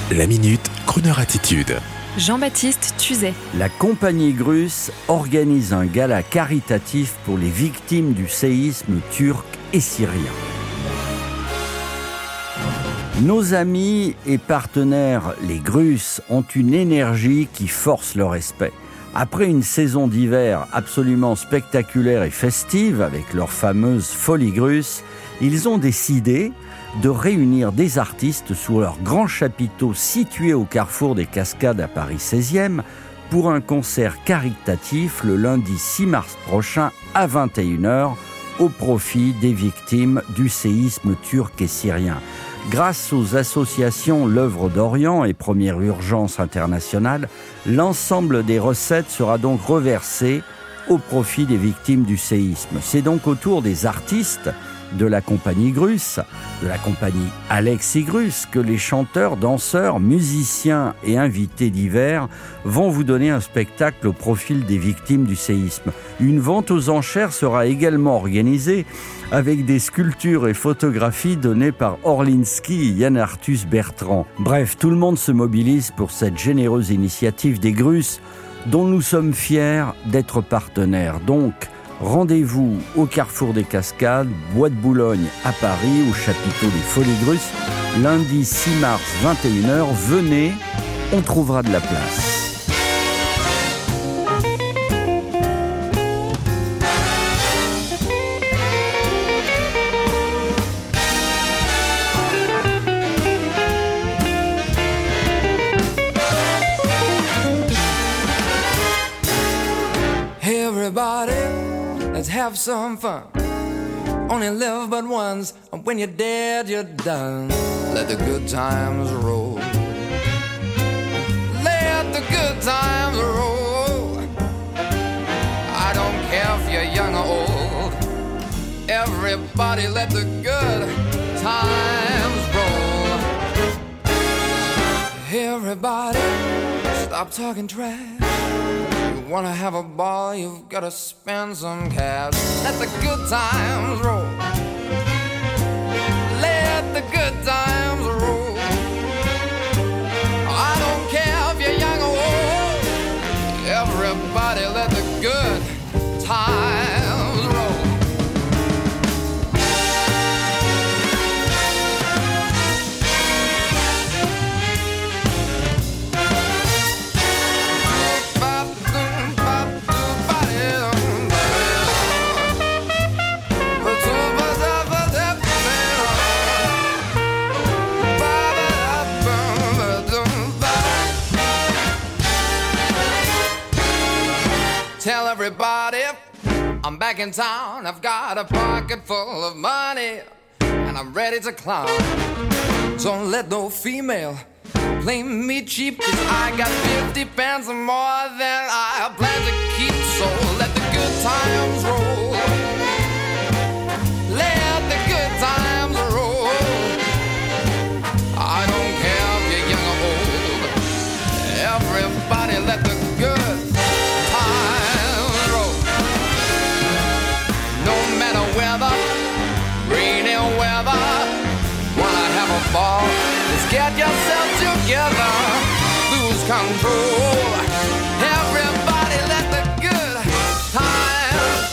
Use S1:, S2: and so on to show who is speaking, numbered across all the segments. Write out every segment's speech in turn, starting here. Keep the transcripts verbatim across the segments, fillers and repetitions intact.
S1: La Minute Crooner Attitude.
S2: Jean-Baptiste Tuzet.
S3: La compagnie Grus organise un gala caritatif pour les victimes du séisme turc et syrien. Nos amis et partenaires, les Grus, ont une énergie qui force le respect. Après une saison d'hiver absolument spectaculaire et festive avec leur fameuse Folie Grus, ils ont décidé de réunir des artistes sous leur grand chapiteau situé au carrefour des Cascades à Paris seizième pour un concert caritatif le lundi six mars prochain à vingt et une heures au profit des victimes du séisme turc et syrien. Grâce aux associations L'Œuvre d'Orient et Première Urgence Internationale, l'ensemble des recettes sera donc reversé au profit des victimes du séisme. C'est donc au tour des artistes de la compagnie Grus, de la compagnie Alexis Grus, que les chanteurs, danseurs, musiciens et invités divers vont vous donner un spectacle au profil des victimes du séisme. Une vente aux enchères sera également organisée avec des sculptures et photographies données par Orlinski et Yann Arthus Bertrand. Bref, tout le monde se mobilise pour cette généreuse initiative des Grus dont nous sommes fiers d'être partenaires. Donc, rendez-vous au Carrefour des Cascades, Bois de Boulogne à Paris, au chapiteau des Folies Grus, lundi six mars, vingt et une heures. Venez, on trouvera de la place.
S4: Everybody, let's have some fun. Only live but once, and when you're dead, you're done. Let the good times roll. Let the good times roll. I don't care if you're young or old. Everybody, let the good times roll. Everybody, stop talking trash. Wanna have a ball, you've gotta spend some cash. Let the good times roll. Let the good times roll. I don't care if you're young or old. Everybody let the good times roll. Tell everybody I'm back in town. I've got a pocket full of money and I'm ready to clown. Don't let no female play me cheap, 'cause I got fifty pence more than I plan to keep. So let the good times roll. Let the good times roll. I don't care if you're young or old. Everybody let the good weather, rainy weather. Wanna have a ball? Let's get yourself together. Lose control. Everybody let the good times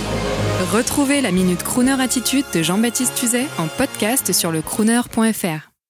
S4: roll.
S2: Retrouvez la Minute Crooner Attitude de Jean-Baptiste Tuzet en podcast sur le crooner point f r.